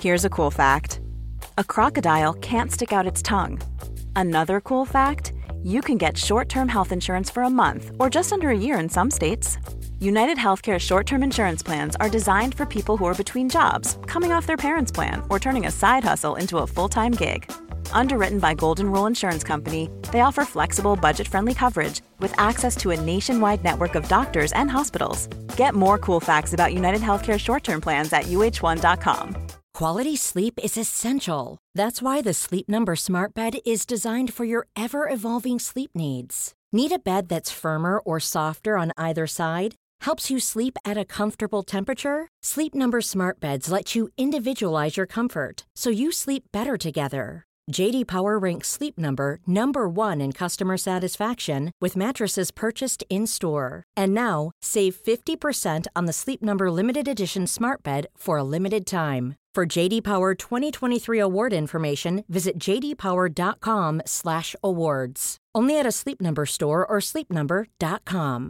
Here's a cool fact. A crocodile can't stick out its tongue. Another cool fact, you can get short-term health insurance for a month or just under a year in some states. United Healthcare short-term insurance plans are designed for people who are between jobs, coming off their parents' plan, or turning a side hustle into a full-time gig. Underwritten by Golden Rule Insurance Company, they offer flexible, budget-friendly coverage with access to a nationwide network of doctors and hospitals. Get more cool facts about United Healthcare short-term plans at uh1.com. Quality sleep is essential. That's why the Sleep Number Smart Bed is designed for your ever-evolving sleep needs. Need a bed that's firmer or softer on either side? Helps you sleep at a comfortable temperature? Sleep Number Smart Beds let you individualize your comfort, so you sleep better together. J.D. Power ranks Sleep Number number 1 in customer satisfaction with mattresses purchased in-store. And now, save 50% on the Sleep Number Limited Edition Smart Bed for a limited time. For J.D. Power 2023 award information, visit jdpower.com/awards. Only at a Sleep Number store or sleepnumber.com.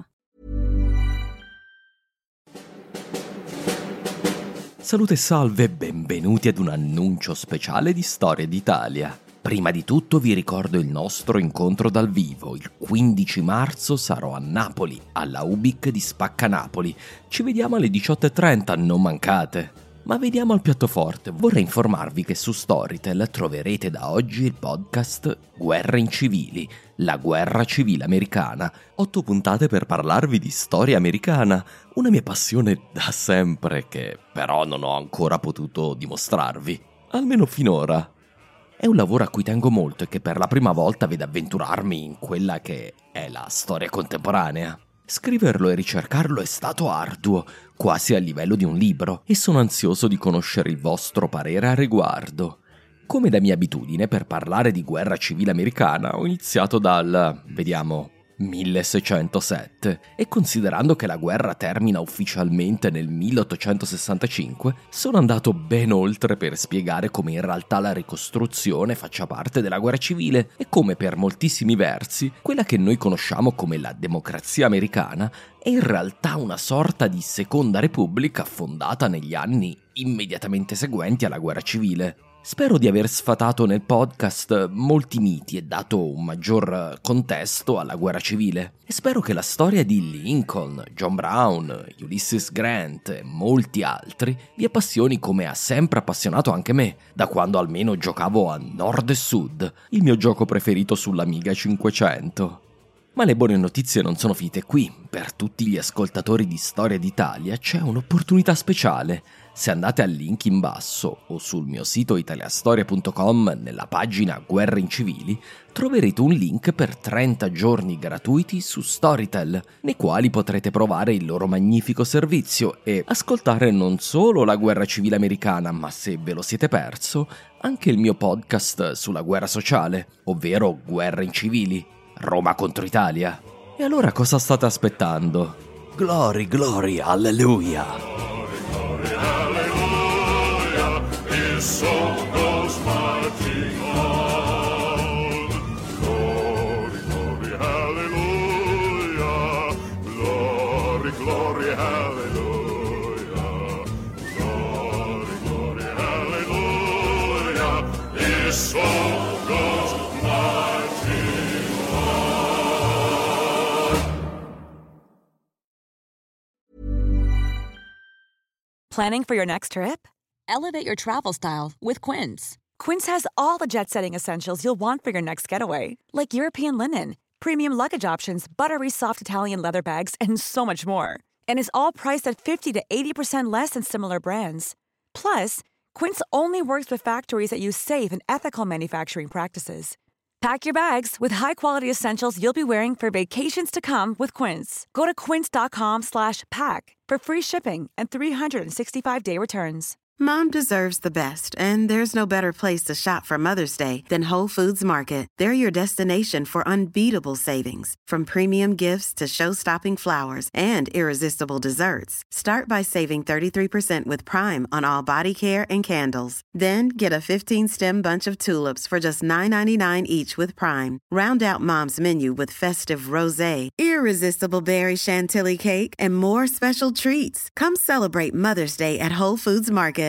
Salute e salve e benvenuti ad un annuncio speciale di Storia d'Italia. Prima di tutto vi ricordo il nostro incontro dal vivo. Il 15 marzo sarò a Napoli, alla UBIC di Spacca Napoli. Ci vediamo alle 18:30, non mancate. Ma veniamo al piatto forte. Vorrei informarvi che su Storytel troverete da oggi il podcast Guerre incivili, la guerra civile americana. 8 puntate per parlarvi di storia americana, una mia passione da sempre che però non ho ancora potuto dimostrarvi, almeno finora. È un lavoro a cui tengo molto e che per la prima volta vede avventurarmi in quella che è la storia contemporanea. Scriverlo e ricercarlo è stato arduo, quasi a livello di un libro, e sono ansioso di conoscere il vostro parere a riguardo. Come da mia abitudine, per parlare di guerra civile americana ho iniziato dal, 1607, e considerando che la guerra termina ufficialmente nel 1865, sono andato ben oltre per spiegare come in realtà la ricostruzione faccia parte della guerra civile e come per moltissimi versi quella che noi conosciamo come la democrazia americana è in realtà una sorta di seconda repubblica fondata negli anni immediatamente seguenti alla guerra civile. Spero di aver sfatato nel podcast molti miti e dato un maggior contesto alla guerra civile. E spero che la storia di Lincoln, John Brown, Ulysses Grant e molti altri vi appassioni come ha sempre appassionato anche me, da quando almeno giocavo a Nord e Sud, il mio gioco preferito sull'Amiga 500. Ma le buone notizie non sono finite qui. Per tutti gli ascoltatori di Storia d'Italia c'è un'opportunità speciale. Se andate al link in basso o sul mio sito italiastoria.com nella pagina Guerre incivili, troverete un link per 30 giorni gratuiti su Storytel, nei quali potrete provare il loro magnifico servizio e ascoltare non solo la guerra civile americana, ma se ve lo siete perso, anche il mio podcast sulla guerra sociale, ovvero Guerre incivili, Roma contro Italia. E allora cosa state aspettando? Glory, glory, alleluia! So goes marching on. Glory, glory, hallelujah. Glory, glory, hallelujah. Glory, glory, hallelujah. His soul goes marching on. Planning for your next trip? Elevate your travel style with Quince. Quince has all the jet-setting essentials you'll want for your next getaway, like European linen, premium luggage options, buttery soft Italian leather bags, and so much more. And is all priced at 50 to 80% less than similar brands. Plus, Quince only works with factories that use safe and ethical manufacturing practices. Pack your bags with high-quality essentials you'll be wearing for vacations to come with Quince. Go to quince.com/pack for free shipping and 365-day returns. Mom deserves the best, and there's no better place to shop for Mother's Day than Whole Foods Market. They're your destination for unbeatable savings, from premium gifts to show-stopping flowers and irresistible desserts. Start by saving 33% with Prime on all body care and candles. Then get a 15-stem bunch of tulips for just $9.99 each with Prime. Round out Mom's menu with festive rosé, irresistible berry chantilly cake, and more special treats. Come celebrate Mother's Day at Whole Foods Market.